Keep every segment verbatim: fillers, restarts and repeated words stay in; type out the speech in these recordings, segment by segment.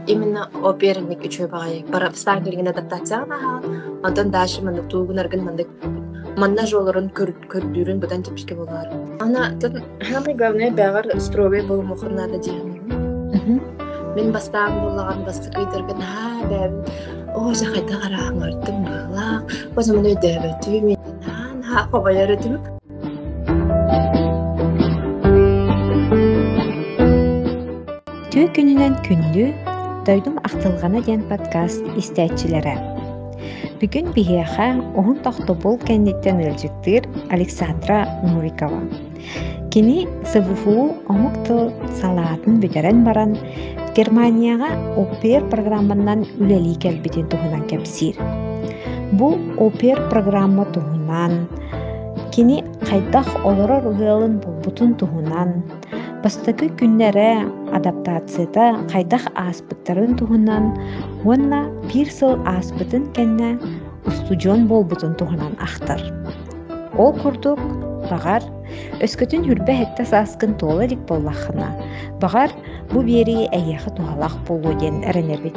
именно оперник үчөө багай бара стан кирген адаптация на онтон дальше мандык тугун аргын мандык манна жолорун көрдүрүн будан тепишке болар. Ана самое главное бягар строгой болмохун надо дигән. Мен бастан буллаган бастыкыйдыргын ха бәм о жахайта гараңырдым бала. O zaman ödəvətü мен ха хабайары түбүк. Түү күнүнөн күндү дойдум актылгана ден подкаст истәчиләре. Бүгүн бихеха оһун тохтобул кенниттен өлжүктөр Александра Нурикова. Кини СВФУ омукту салаатын бүтерен баран Германияга опер программанан үлели келбитин тухунан кепсир. Бу опер программа тухунан кини кайдах олорор ыалын булбутун тухунан бастакы күннәре адаптацияда кайдах аспыттарын тухунан уонна бир сыл аспытын кенне устужон болбутун тухунан ахтар. Ол курдук багар өскөтүн хүрбе хетте саскын толарик боллахына. Багар бу бери эйяхы тухалах болу ден эренербит.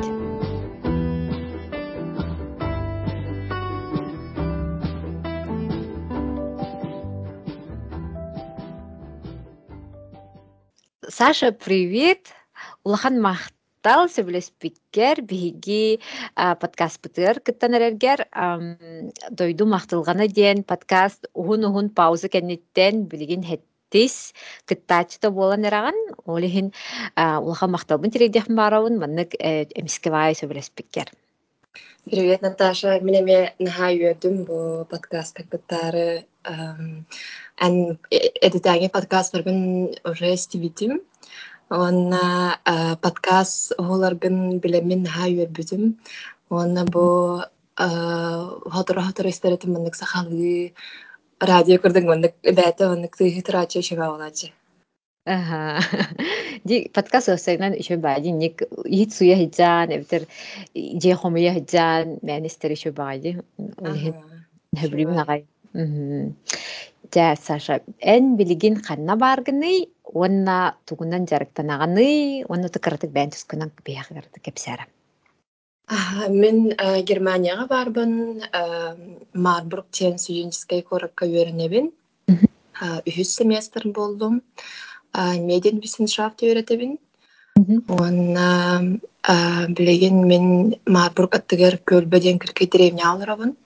Саша, привет! Улахан мақтал сөбілеспеккер биһиги подкаст бытыр кыттан эрергер дойду мақтылғаны ден подкаст ухун-ухун пауза кеннеттен билигин хеттис кыттачыта болан эраган олихин улахан мақталбын тирейдехин барауын маннык эмискевай сөбілеспеккер. Привет, Наташа. Меня ме нахайыдым бу подкаст кыттары. Ан эдитаги подкаст баргын уже стивитим. Он подкаст оларгын билемин нахайыдым. Он бу хатыр-хатыр истеретим мындык сахалы радио көрдөң мындык бәте мындык тыйытрачы шега болачы. Ага. Ди подкаст осайнан еще бади ник ит суя хиджан эбитер же хомия хиджан министер еще бади олихин хабрибин агай. Ja Саша эн билигин ханна баргыны онна тугунан жарыктанаганы онна тыкыртык бәнтүс күнан биягырды кепсәра. Мен Германияга барбын, Марбург тен студенческий коракка үйренебин. Үһүс семестр болдум. Медиенвissenschaft үйрәтебин. Онна билеген мен Марбург аттыгар көлбеден кирке деревня алырабын.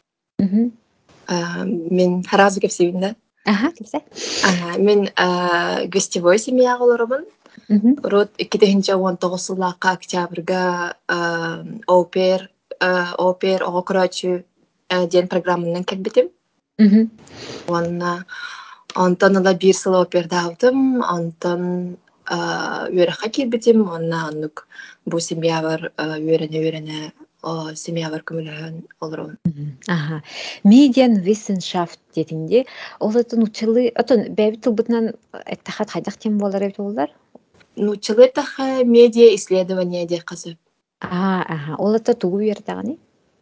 Мен харазы кепсебин да. Ага, кепсе. Мен гостевой семья алырабын. Рот икки он тогуз сыллакка октябрга опер опер окрачу ден программанан келбетим. Онна Антон ала бир сыл оперда алдым, Антон үйрәхә килбетим, онна анук бу семья бар үйрәнә-үйрәнә семья бар күмелән олырын. Ага. Медиенвissenschaft детинде, ол атын учылы, атын бәби тылбытынан эттахат хайдах тем болар эбит олар? Ну, учылы таха медиа исследование де казып. Ага, ага. Ол ата тугу бердаганы?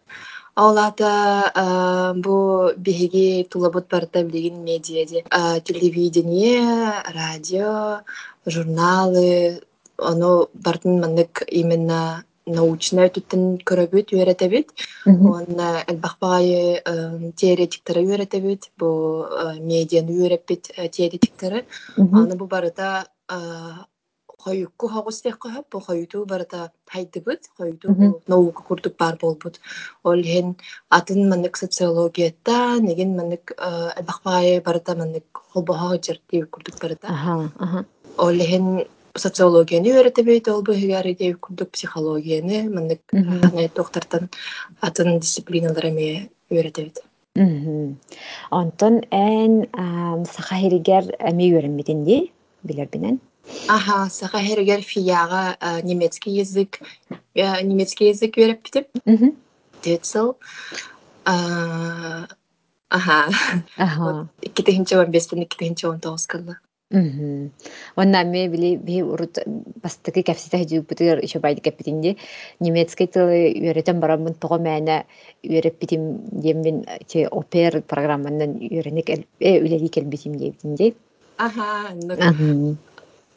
Олата бу биһиги тулабыт барда билигин медиа де телевидение, радио, журналы, оно бартын мандык именно научная түттен көрөбүт үйрәтебит. Онна элбахбай теоретиктары үйрәтебит, бу медианы үйрәпбит теоретиктары. Аны бу барыта Хойукку хогустек кахап, бу хойуту барыта хайдыбыт, хойуту бу наука курдук бар болбут. Ол хен атын мандык социологията, неген мандык элбахбай барыта мандык холбоха жертиев курдук барыта. Ол хен социологияны үйрәтебит, ол бу хигари диев курдук психологияны, мандык ханы доктортан атын дисциплиналарыме үйрәтебит. Антон эн сахахиригер эми үйрәнмитинди билер бинен. Ага, саха хергер фияга немецкий язык, немецкий язык үйрәп битеп. Детсел. Ага. Ага. икки он бестен икки он тогуз кылды. Мм. Онна ме били би урут бастыгы капсита хижу бутыр еще байды капитинде немецкий тилы үйрәтем барамын тога мәне үйрәп битим деммен те опер программанан үйрәнек э үлели келбитим дебитинде. Ага,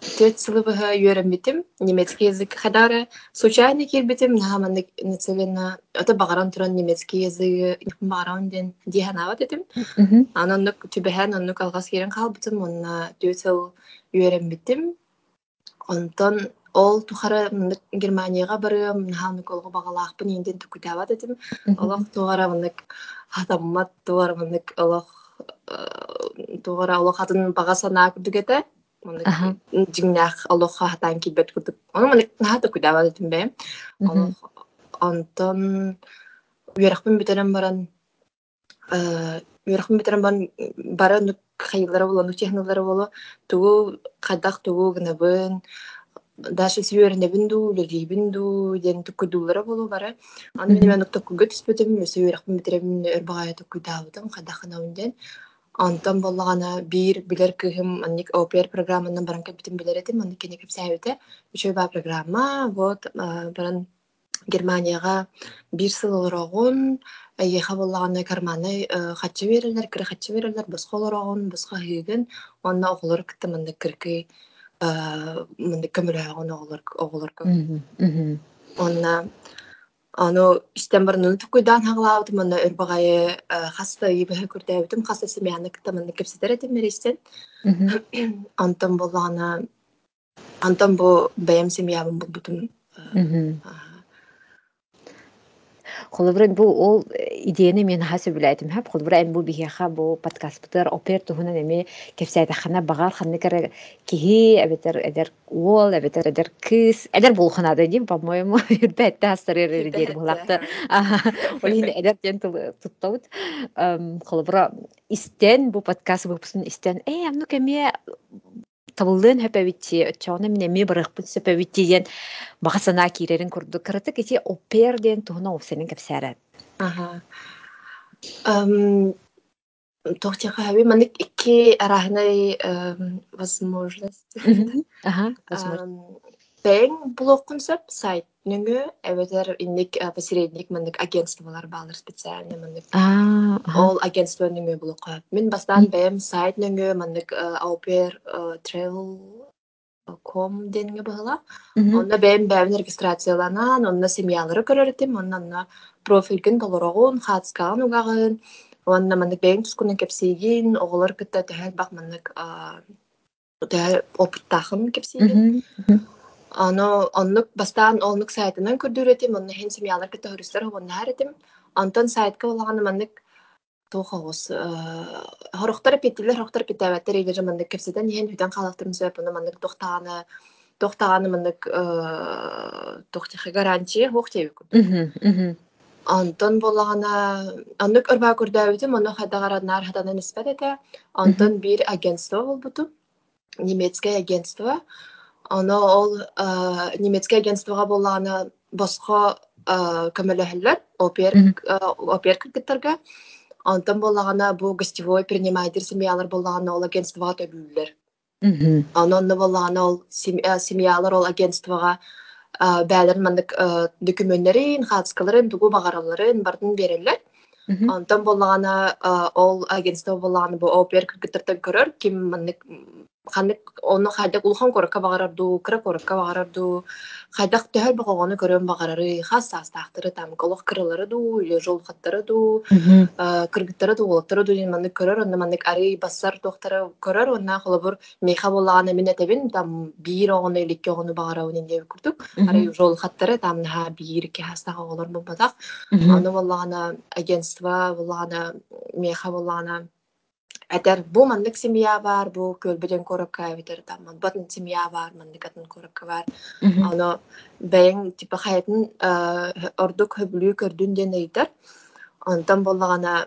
Төт сылыбыһа үөрэммитим немецкий язык хадара случайно кирбитим наһаманнык нацелена это багаран туран немецкий языгы багаран ден диһанават этим Мгм. ананнык түбэһэн оннук алгас киирен хаалбытым онна төт сыл үөрэммитим онтон ол тухара мынык Германияга барыам наһамнык олго багалаахпын инден түкүтабат этим олох тугара мынык хатаммат тугара мынык олох тугара олох хатын бага санаа күрдүгете мынык Аха. жиңнах олох хатан килбет күрдүк ону мынык нахата күтабат этим бе олох Мгм. онтон үөрахпын битерен баран үөрахпын битерен баран бара нук хайыллара боло нук технолары боло тугу кадах тугу гынабын даже сүйөрнебин ду легибин ду ден tukkudulara bolu bara аны мен Мгм. мен tukkuga түспөтөм сүйөрахпын битеремин өрбагая tukkudaabытым кадахынабын антон боллагана бир билер кыһым анник опер программанын баран кепитим билер этим анник кене кепсәбите үчөө ба программа вот баран Германияга бир сыл олорогун эйеха боллаганы карманы хачы берелер кыра хачы берелер боско олорогун боско хыгын онна оголор кыттымында кыркы мындык көмөлөөгөн оголор оголор Мгм. Мгм. онна аны истен барынан tukkuйдаан хагалаабытым онна өрбагайы хаста ибэһэ күрдээбитим хаста семьяны кыттамында кепсетер этим меристен Мгм. антон боллагана антон бу бэйэм семьябын булбутум Мгм. Холбрен бу ол идеяны мен хасы билетим хап холбрен бу бихяха бу подкастер опер туһунан эми кепсайда хана багар ханны кара кихи эбетер эдер ол эбетер эдер кыс эдер бул хана да дим по-моему бетте хастырыр дер булакта ол ин эдер тен туттабыт холбра истен бу подкаст выпускын истен э амну кеме табылдын хөпөбитти өчөөнө мен эми барыхпыт сөпөбитти диен багасана кирерин курду кырыты кити опер диен туһуна опсенин кепсәрәт. Ага. Тохтяха хаби манык икки арахнай возможность. Мгм. Ага, возможно. Бэйн блог концепт сайт нүнгө эбетер инник посередник манык агентстволар баалар специально манык А, ага. ол агентство нүнгө блогка. Мен бастан Мгм. бэйм сайт нүнгө манык аупер travel ком денге быһыла. Мгм. Онна бэйм бэйм регистрацияланан, онна семьялары көрөрөтим, онна профилген толорогун, хатскаан угагын, онна манык бэйм тускунун кепсейгин, оголор кытта тэхэл бак манык тэхэл опыттахын кепсейгин. Мгм. Мгм. Ано оннук бастаан олнук сайтынан көрдүрөтим, онна хен семьялар кытта хөрүслөр хобонна харетим. Антон сайтка олаганы манык тухагыс хорохтар петтилер хорохтар петтәбәттер илер манык кепсетен хен хүтән халыктырын сөп, онна манык тохтаганы тохтаганы манык тохтихы гарантия хохтеби курдук. Мгм. Мгм. Антон боллагана аннык өрбә күрдәбитим, аны хадagaranlar хаданан испәт итә. Мгм. Антон бир агентство булбуту, немецкое агентство. Аны ол немецкое агентствога боллагана боско көмөлөһөллөр, опер Мгм. опер кыргыттарга. Антон боллагана бу гостевой приниматель семьялар боллагана ол агентствога төбүллөр. Мгм. Ононно боллагана ол семьялар ол агентствога бәлерин мандык документтарын, хатскаларын, тугу багараларын бардын берелер. Мгм. Онтон боллагана ол агентство боллагана бу опер кыргыттардан көрөр, ким мандык ханнык оны хайдак улхан коракка багарарду, кыра коракка багарарду, хайдак төһөл багону көрөн багарары, хас састактыры там колох кырылары ду, или жол хаттары ду, Мгм. кыргыттары ду, олоттары ду ден мандык көрөр, онна мандык ары бассар тохтары көрөр, онна холобур мейха боллагана мен этебин там бир огону иликке огону багарабын инде күрдүк. Ары Мгм. жол хаттары там наха бир ки хастага олор болбатак. Мгм. Аны боллагана агентство боллагана мейха боллагана Әтер бу мандык семья бар, бу көлбөдөн коракка битер там батын семья бар, мандык атын коракка бар. Мгм. Аны бәйин типа хаятын ордук хөблүү көрдүн ден ыйтар. Онтон боллагана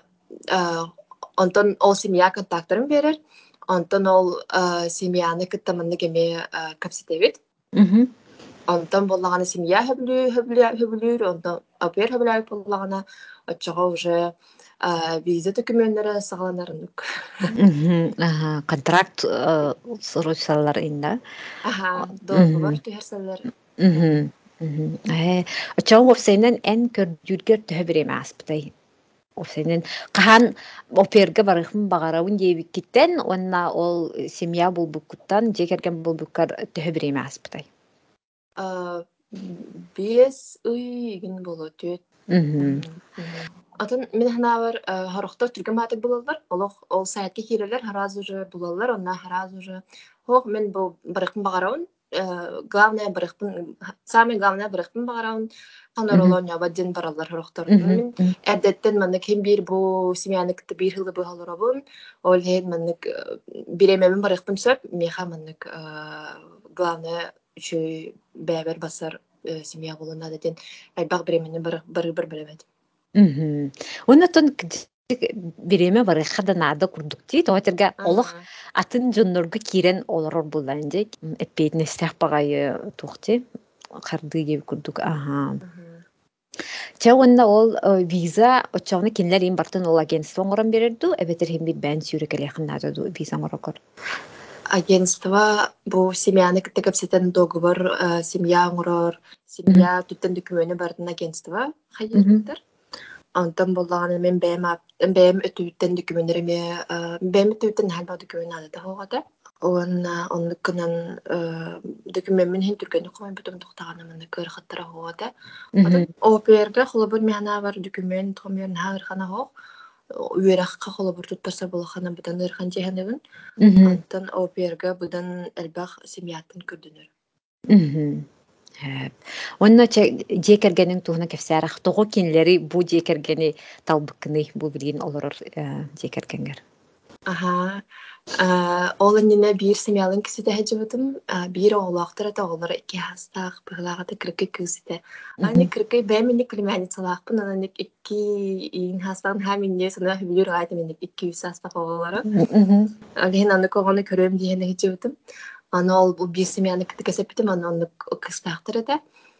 онтон ол семья контактарын берер. Онтон ол семьяны кыттаманны кеме капситебит. Мгм. Онтон боллагана семья хөблүү хөблүү хөблүү, онтон опер хөблүү боллагана очого уже виза документтері сағаланарынық. Мгм. Ага, контракт соручсалар инда. Аха, договор Мгм. түһәрсәләр. Мгм. Мгм. Э, очоң опсайнан эн көрдүргөр төһө биреме аспытай. Осенен кахан оперге барыхын багарабын диэбиккиттен онна ол семья булбуккуттан жекерген булбуккар төһөбүрейме аспытай. Биэс ый игин болотүөт. Атын мен ханавар харохтор түргөн матык булалар. Олох ол сайтка кирелер хараз уже булалар, онна хараз уже. Хох мен бу барыхын багараун. Главное барыхын самый главное барыхын багараун. Ханаролон ябадын баралар харохтор. Мен әдеттен мен кем бир бу семьянык бир хылы бу халарабын. Ол хед мен биремемен барыхын сөп, меха мен главное үчү бәбер басар семья болуна деден айбак биременен бар бар бар билебет. Мм. Оннотон биреме бары хаданада курдукти, тотерга олох атын жонноргу кирен олорор буланжек. Эппетне стах багай тухти. Карды деп курдук. Ага. Ча онна ол виза очоны кинлер ин бартын ол агентство оңорон берерду, эбетер хем бир бән сүйрекеле ханнада виза оңорокор. Агентство бу семьяны кытыгапсетен договор семья оңорор, семья туттен документы бардын агентство хайыктар. Антон боллаган мен бэм бэм өтүттен документтериме бэм өтүттен халба документ алды хогата. Он оннуккунан документ мен хин түргөн комой бутум токтаганы мен көр хаттара хогата. Атын оперга холобур мена бар документ комер хагыр хана хог. Үеракка холобур туттарса болохана бутан ырхан жеханебин. Антон оперга будан элбах семьяттын көрдүнөр. Мм. Онна жекергенин туһуна кефсарах того кинлери бу жекергени талбыкны бу бирин олорор жекергенгер. Ага. Ол энине бир семьялын кисите хежибитим, бир оглактыр да олар эки хастак быглагата кыркы кысите. Аны кыркы бэмини климани салакпын, аны эки ин хастан хаминне сана бир айты мен эки жүз хастак оглары. Алин аны когоны көрөм дигени хежибитим. Аны ол бу бир семьяны кытыкасепитим, аны кыстактыр да.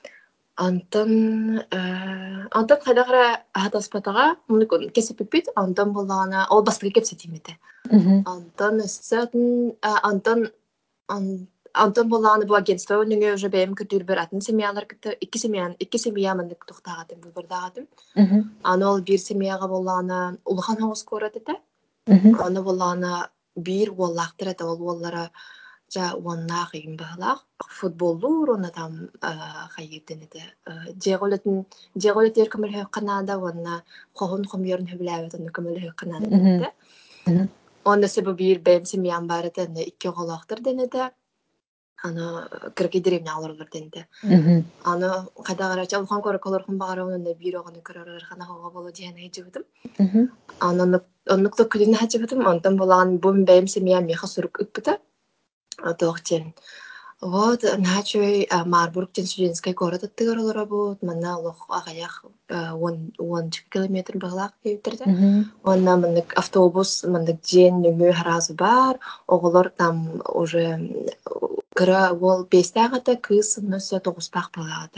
Антон Антон кайдагыра хатаспатага муну кесепипит, Антон боллагана ол бастыгы кепсетимете. Антон сатын Антон Антон боллаганы бу агентство үнүгө уже бэм көтүр бер атын семьялар кытты, эки семья, эки семья мен токтагатым, бу бирдагатым. Аны ол бир семьяга боллаганы улхан хогус көрөт эте. Аны боллаганы бир боллактыр эте, ол боллара жа уаннах им баглах футболлур оны там хайырден эте. Жеголетин жеголетер көмөлө канада уанна хохон хомьерн хөбләбет оны көмөлө канада денете. Онда себе бир бэм семьям бар эте, икки голактыр денете. Аны кыргы деревня алырлар денете. Аны кадагара чалхан көрө колорхун багарауны бир оганы көрөр хана хого боло дияна хежибитим. Аны оннукту күлүнө хежибитим, онтон болаган бу бэм семья меха сурук үппүтө. Тоохтен. Вот, начой Марбургтен студентский город аттыгар работ, манна лох агаях он километр баглак кейтирде. Онна мандык автобус, мандык ден нөмө харазы бар, оголор там уже кыра ол бестагата кыз нөсө тогуспак баглата.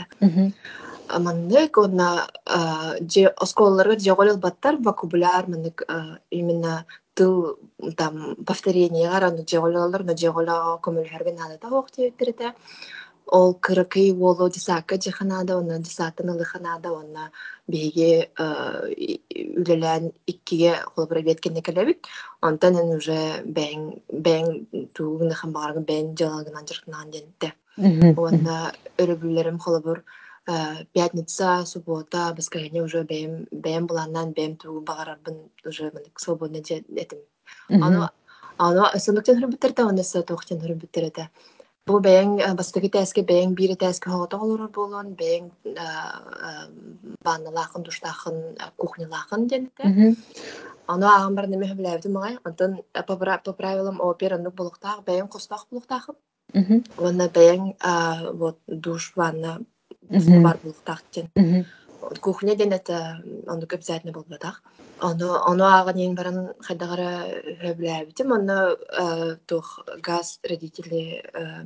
Мандык онна же осколларга жоголел баттар вокабуляр мандык именно тыл там повторение гараны жогололор но жоголо көмөлөргөн алата октебирде. Ол кыркый воло дисака жаханада онна дисатын лыханада онна беге үлелен иккиге холбура беткенне келебит. Онтан уже бен бен тугун хамбарга бен жалагынан жыртынан денде. Онна өрөбүлөрүм холбур пятница, суббота, воскресенье уже бем бем буланнан бем туу багарабын уже свободно этим. Ано ано сыныктан хөрбүттерде онысы токтан хөрбүттерде. Бу бен бастыгы тәске бен бири тәске хогото олор болгон бен банналахын душтахын кухнялахын денде. Ано агам бар неме билебди мага. Антон по правилам операны булуктак бен костак булуктак. Онна бен вот душ ванна бар булуктактен. Кухня денете аны обязательно болбатак. Аны аны аган ен баран хадагара хөбләбитим. Аны тох газ родители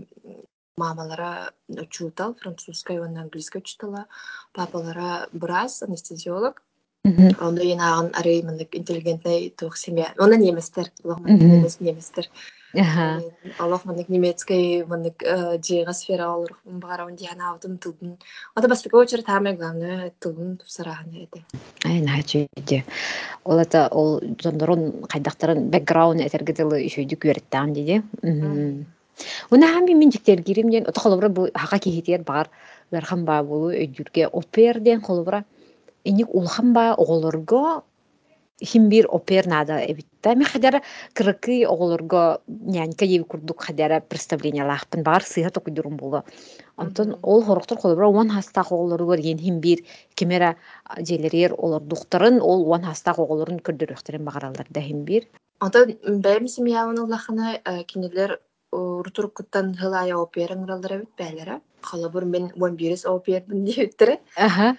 мамалара учутал французской, он английской учитала. Папалара брас анестезиолог. Аны ен аган арый мындык интеллигентный тох семья. Аны неместер, логман немес неместер. Аха. Аллах маннык немецкий маннык жига сфера олор бара он диана аутун тудун. Ата бастыка очер таме главное тудун сарахны эте. Ай начуйди. Ол ата ол жондорон кайдактарын бэкграунд этергедели ишөйдү күрөттәм диди. Уна хами мен жиктер киримден отохолобра бу хака кихитер бар. Верхан ба болу өйдүрге оперден холобра. Эник улхан ба оголорго химбир опер нада эбитта. Ми хадара кырыкы оголорго нянька ев курдук хадара представление лахпын бар сыйга токуйдурум болу. Антон ол хороктор холобра уан хаста оголорго ген химбир кемера желерер олар духтарын ол уан хаста оголорун көрдөрөктөрөн багаралдар да химбир. Ата бәйм семьяны лахана кинелер уртуркуттан хылая опера нралдара бит бәләре. Халабыр мен он бирис опер диттер. Аха.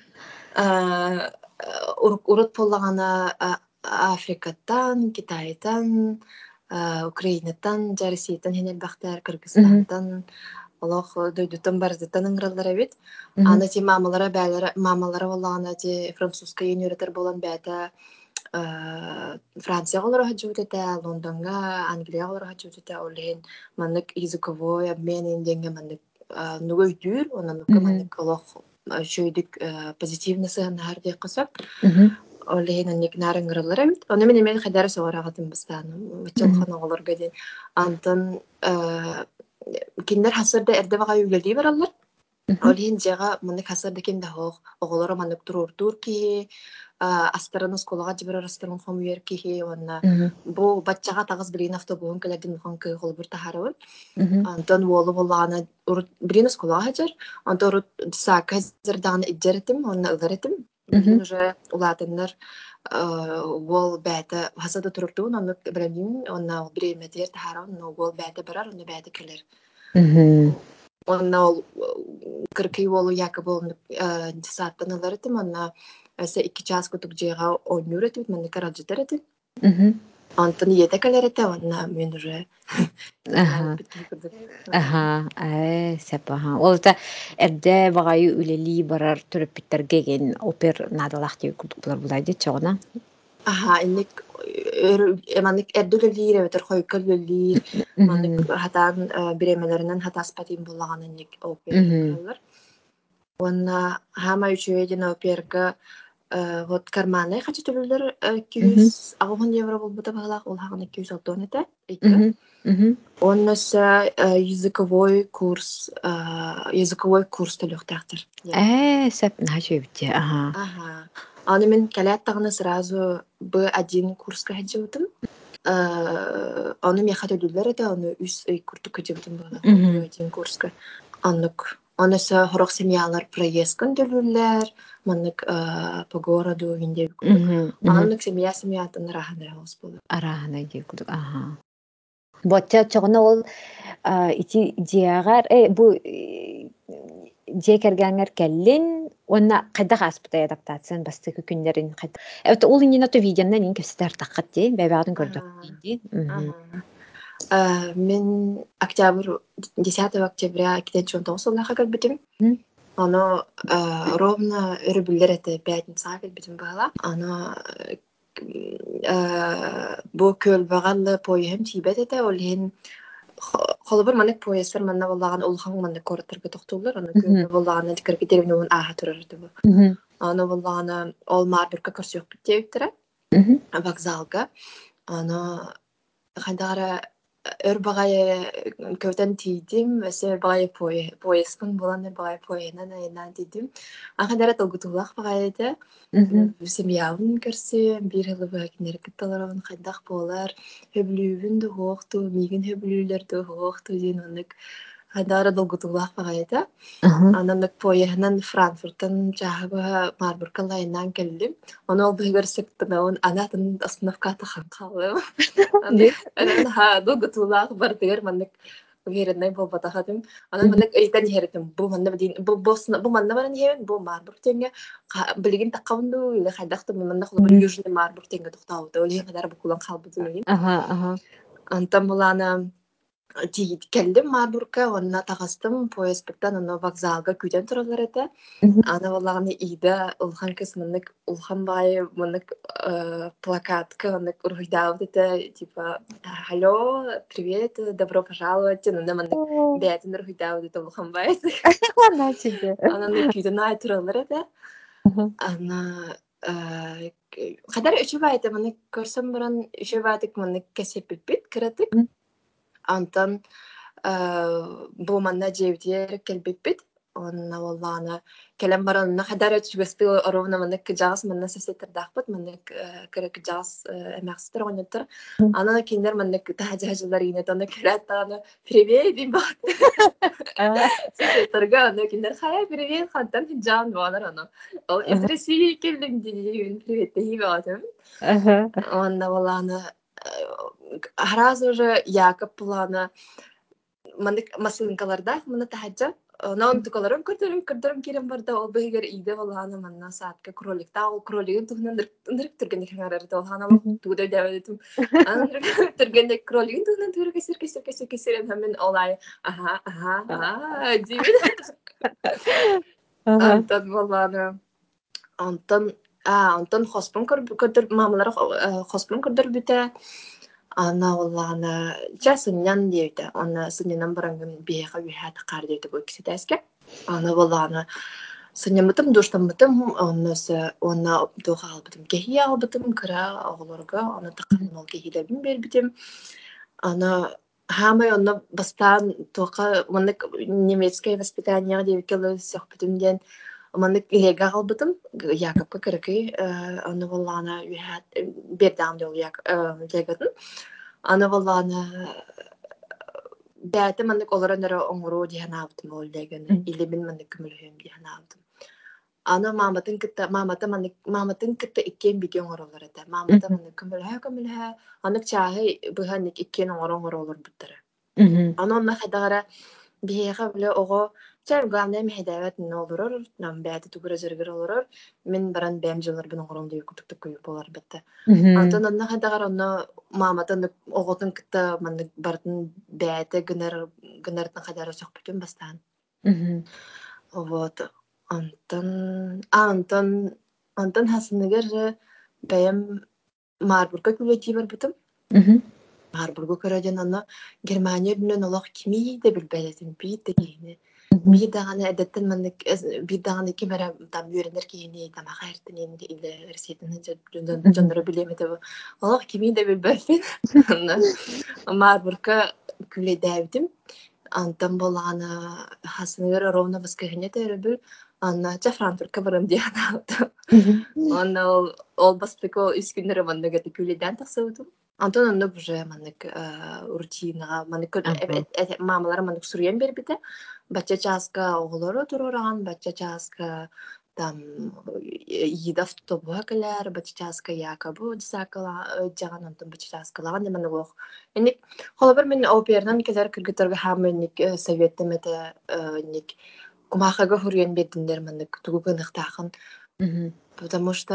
Урут поллагана Африкаттан, Китайдан, Украинаттан, Россиятан хенел бактар, Кыргызстантан, Аллах дойдутан барзытан ыңраллара бит. Аны ти мамалара бәләре, мамалара боллагана ти французская юниоретер болан бәта Франция олар хаҗутата, Лондонга, Англия олар хаҗутата, олен маннык языковой обмен инденге маннык нугой дүр, онан маннык Аллах шөйдик позитивны сыгын һәрдә кысак. Олен анник нарыңгырлар бит. Аны мен мен хәдәр сорагатым бистан. Вачылхан оларга дин. Антон киндер хасырда эрдә бага юлли баралар. Олен жага маннык хасырда киндә хог, оголора маннык турур турки астарын сколага жибер астарын хомуер кихи онна бу батчага тагыз билин автобуын келедин хон кы холбур тахарып антон волу волана урут билин сколага хажар антон урут сака зердан иджеретим онна ыгаретим билин уже улатыннар вол бәте хасада турурдун онна брендин онна бреметер тахарып но вол бәте барар онна бәте келер онна ол кыркый волу якобы сааттан ыгаретим онна Ese iki час kutuk jega oynuyor etip men karajıdır etip. Антон yete kalır ete ona men уже. Aha. Aha. Ay sepaha. Olta erде bagayı üleli barar törüp bitterge gen oper nadalak diye kurduklar bulaydı çoğuna. Aha innik emanik erdüleli reveter koyköleli manik hatan biremelerinden hatas patin bullagan innik oper krallar. Ona hama üçüyedin operga вот карманы хочу төлөлөр iki yüz агын евро болбута багалак ол хагын iki yüz отон эте эки. Оннаса языковой курс языковой курс төлөктактыр. Э, сеп начебите. Ага. Ага. Аны мен калят тагына сразу бэ один курска хаҗыбытым. Аны мен хатөлөлөр эте аны үс ай куртук хаҗыбытым бала. бэ один курска. Аннык Онысы хорох семьялар проездкан төлөлөр, маннык по городу винде курдук. Аннык семья семьятын рахана хос болду. Арахана ди курдук. Ага. Ботча чогона ол ити диагар э бу жекергәңер келлин онна кайда хаспыта адаптациян бастыгы күннәрин кайда. Evet ул инде нато видеоннан ин кепстер таккат ди, бәбәдән көрдүк ди. Мен октябрь десятого октября две тысячи девятнадцатого сыллаха кэлбитим. Оно ровно өрүбүллер эте пятница кэлбитим бала. Оно бу көл багаллы поем тибет эте олен холобор манык поездер манна боллаган улхан маннык короттарга токтолдор. Оно көл боллаган дикерге терминун аха турарды бу. Оно боллаган ол марбурка көрсөк биттептер. Вокзалга. Оно хадара өр багай көтөн тийдим, өсө багай поездкын болан багай поенан айынан тийдим. Ахадара толгутулах багайды. Семьявын көрсө, бир жылы багинер кытталарын кайдак болар, хөблүүбүн да хокту, мигин хөблүүлөр да хокту денонук. Хадара толгутулах багайды. Ананык поенан Франкфурттан жагы Марбурга лайнан келдим. Оны ол бөгөрсөктөн он анатын остановката калдым. Анан ха долгутулах бардыр маннык верендай болбата хадым. Анан маннык эйтен херетим. Бу манна бин бу босна бу манна баран хевен бу Марбург тенге билигин такканду или хайдакты манна холбор южный Марбург тенге токтабыты. Оле кадар бу кулан калбыты мен. Ага, ага. Антан булана келдим Марбургка, онна тагыстым поездтан, оно вокзалга күтен туралар эте. Ана баллаганы ида улхан кысмынык улхан бай мынык плакатка мынык ургуйдабыт эте, типа алло, привет, добро пожаловать, ана мынык бәтин ургуйдабыт эте улхан бай. Ана тебе. Ананы күтен ай туралар эте. Ана хадар үчү байта мынык көрсөм баран үчү байтык мынык кесеппит кыратык. Антон бу манна жебитер келбеппит. Онна воллана келем баранна хадар өчүгөстү оровна мынык жаас манна сесеттердакпыт мынык керек жаас эмакстыр оньоттор. Ана киндер мынык тажажылар ине таны келаттаны привет дим бат. Сесеттерге ана киндер хая привет хантан жан балар ана. Ол из России келдим дигин привет дей батым. Онна воллана Хараз уже Якоб плана мандык масынкаларда мына тахаджа нон тукаларым көрдөрүм көрдөрүм керем барда ол бегер иде болганы манна саатка кроликта ол кролигин тугунан дырык түргенде хаңарар да хана ол тугудай дабедим ан түргенде кролигин тугунан түргө кесер кесер кесер кесер мен олай аха аха аха дибин антон болганы антон а антон хоспун көрдөр мамалар хоспун көрдөр бүтэ Ана оллана часыннан дейді. Ана сыннан барангын бейға үйәті қар дейді бұл кісі тәске. Ана оллана сыннан бұтым, душтан бұтым, онысы оны доға албытым, кехи албытым, кіра оғылырға, оны таққанын ол кехилерін бербітім. Ана хамай оны бастан тоқа, мұнық немецкай воспитанияға дейбі келі сөхбітімден Маннык илега албытым, Якобка кырыкый, аны боллана үйәт, бердамды ол легатын. Аны боллана бәті маннык оларанары оңыру дейін абытым ол леганы, или мен маннык күмілхем дейін абытым. Аны маматын кытта, мамата маннык, маматын кытта иккен биде оңыр олар эте. Мамата маннык күмілхе, күмілхе, аннык чағы бұғаннык иккен оңыр оңыр олар бұттары. Аны онна қайдағара бейеға біле оғы Чайм главное мехедават нолдурор, нам бәті түгірі зіргір олырор, мен баран бәм жылар бін оңырымды өкітікті көйіп болар бітті. Антон онна қайдағар онна маматын оғытын кітті манны бартын бәті гынардың қайдары соқ бүтін бастан. Вот. Антон... А, Антон... Антон хасыныгер бәйім Марбургка күлети бар бүтім. Марбургка көрәден онна Германия дүнен олақ кеми де білбәлетін бейді кейіне. Bir dağını edetten mandık bir dağını ki bara tam yörenler ki yeni tam hayırtın yeni ile resetini canları bilemedi bu. Allah kimi de bir belfin. Marburka küle devdim. Antam bolana hasınır rovna baskıhine de röbül. Anna ca Frankfurt'a varım diye anlattım. Anna ol ol bastık o üç günleri mandık da küleden taksavdum. Антон онно уже маннык рутинаға маннык мамалар маннык сурьен бербите бачча чааска оголору турураган бачча чааска там ида автобуга келер бачча чааска якобу дисакала жаган антон бачча чааскалаган деманы ох эник холобер мен опернан келер кыргыттарга хамменник советтемете ник кумахага хурьен бердиндер маннык тугугыныктагын потому что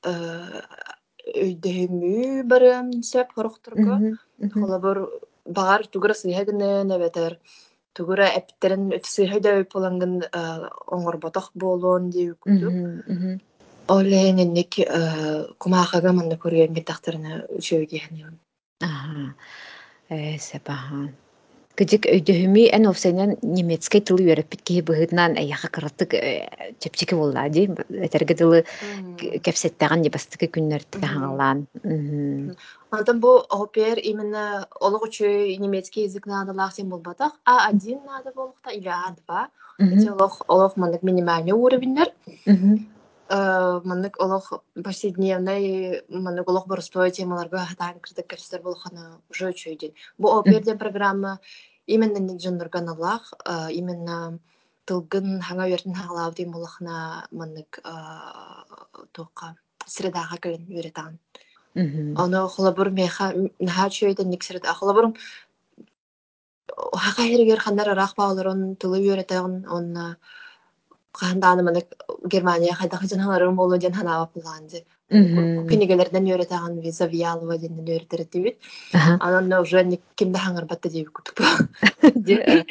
өйдөһүмүү барым сөп хорохторго холобор багар тугура сыйхагыны небетер тугура эптерин өтсыйхайда өпөлангын оңорботох болуун дии күтү олененник кумаахага манна көрүөн битахтарына үчөөгиэни Ага. Э, сепаха. Кыдык өйдөһүмү эн офсайнан немецкай тылы үйрөппит киһи быһыытынан эйяха кыраттык чепчики булла ди этерге тылы кепсеттаган дебастык күннөртө хаҥалаан. Антон бу опер именно олог үчү немецкий язык надалах сен болбатах а один надо болохта или а два эти олог олог мандык минимальный уровеньдер мандык олог повседневный мандык олог боростой темаларга хатан кырдык кепсеттер болохана уже үчөйден бу оперден программа именно нигжоннорган аллах именно тылгын хаңа уертин хагалаав дем болохна мандык тока средага кэлен үйрэтаан Оно холобур меха наха чөйден никсерет ахолобур хака хергер хандар арах бааларын тылы үйрэтаан онна Каһандааны маны Германия хайдах жан халарым болу ден ханаап буланды. Мгм. Кинигелерден өретаган виза виалова ден өретер дибит. Ага. Анан уже кимде хаңар батта дип кутуп. Де.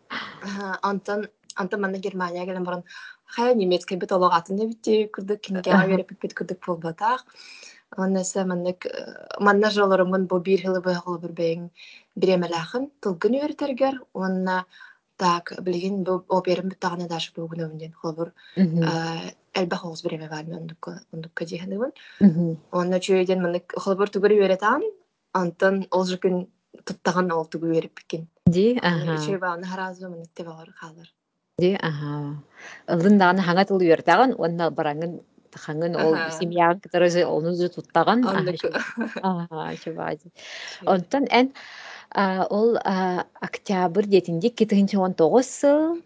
Антон Антон маны Германия гелен баран хая немецкий бит олагатын дебит күрдүк кинге Ага. өретип бит күрдүк болбатах. Аннаса маннык манна жолорумун бу бир хылы байгыл бир бең биремелахын тылгын өретергер. Онна так билген бу оперим биттагына даш бүгүн өнден хобур Мгм. элбе хогус биреме бар мен ондук ондук жиһаныбын. Мгм. Онна чөйден маннык хобур тугур өретан Антон ол жукун туттаган ол тугу өрип бикин. Ди. Аны Ага. үчөй бааны харазы маннык те бар халар. Ди. Ага. Ылын даганы хаңа тыл үйөртаган, онна бараңын хаңын ол Ага. семья кытырыжы onu жу туттаган. Ага. Оннук Ага, чубади. чөй. Онтон эн а, ол а, октябрь детинде икки тыгынчы он тогуз сыл.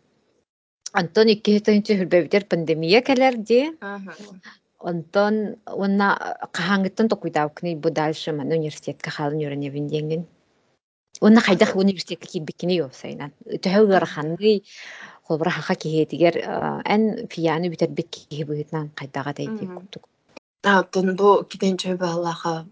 Онтон икки тыгынчы хүрбөбүтер пандемия келерди. Ага. Онтон онна кахаңыттан токуйтабыкны бу дальше мен университетке халын үйренебин деңин. Онна хайдах университетке кибиккини ёсайнан. Төһөгөр ханны холбара хака киһетигер эн фияны битер бит киһибытнан кайдага дайдык Мгм. куттук. Антон бу китенче балаха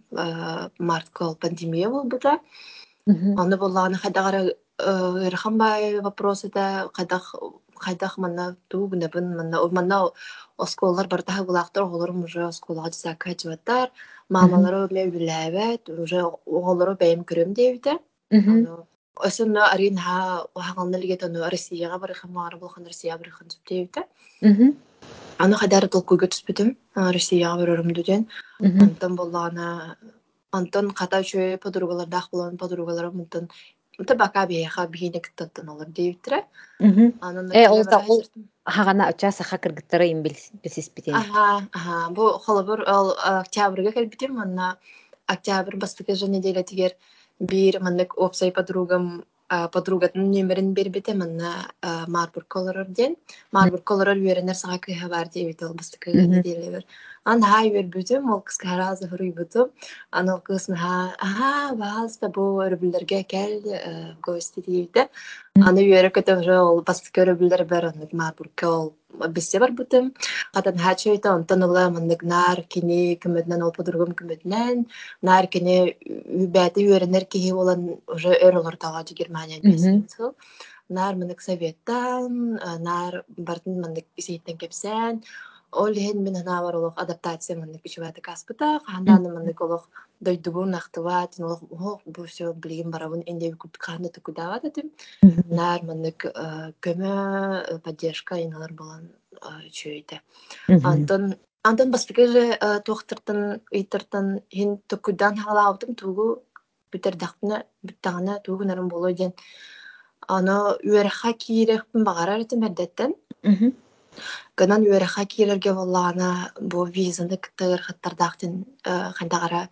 марткол пандемия болбута. Мгм. Аны булланы хадагара Ирханбай вопросы да кадах кайдах манна тугна бин манна манна осколлар бартаха булактар олорум уже осколга дисакка жибаттар. Мгм. Мамалары биле билебет уже оголору бейм көрөм дейбите. Мгм. Аны Осынна арин ха хагалнылыгы тону Россияга барыхан маар булхан Россия барыхан дейбите. Мгм. Аны хадар толкуйга түспүтүм Россияга барырым дүден. Мгм. Антон боллана Антон ката чөй подругалардах булан подругаларым антон Мта бака бияха бигинек таттан алар дейбитре. Мгм. Анын Э нөктөлө ол та бара ол хасыртым. хагана оча саха кыргыттары им билсис битен. Ага, ага. Бу холобур ол октябрга келбитим, манна октябрь бастыкы же неделя тигер бир маннык опсай подругам подругатын нөмерин бербите манна Марбург колорор ден. Марбург колорор үйренер сага кыйха бар дейбит ол бастыкы Мгм. неделя бер. Ан хай бербүтүм, ол кыска харазы хурuyбутум. Ан ол кысын ха, ага, баалста бу өрбүллерге кел гости дейбите. Аны үйрө көтө уже ол бастыкы өрбүллер бер аннык Марбургка ол биссе бар бутум. Катын хачойта онтон ула мындык нар кини кымытнан ол подругум кымытнан нар кини үбәти үйренер киһи болан уже өр олортага Германия Мгм. бесин сыл. Нар мындык советтан, нар бартын мындык исейтен кепсен. Ол хен мен хана бар олох адаптация мындык ичүбәти каспыта. Хандан мындык олох дойдугун нахтыват, олох ох бу все билген барабын энде күт каны тукудават атым. Мгм. Нар мындык көмө поддержка иналар болан чөйте. Мгм. Антон Антон бастыгы туохтартан ыйтартан хин токудан халаабытым тугу бүтердахпына бүттагана тугу нарым болой ден аны үерэхха киирехпин багарар этим эрдеттен Мгм. гынан үерэхха киирерге боллаана бу визаны кыттыгыр хаттардаахтын хайдагара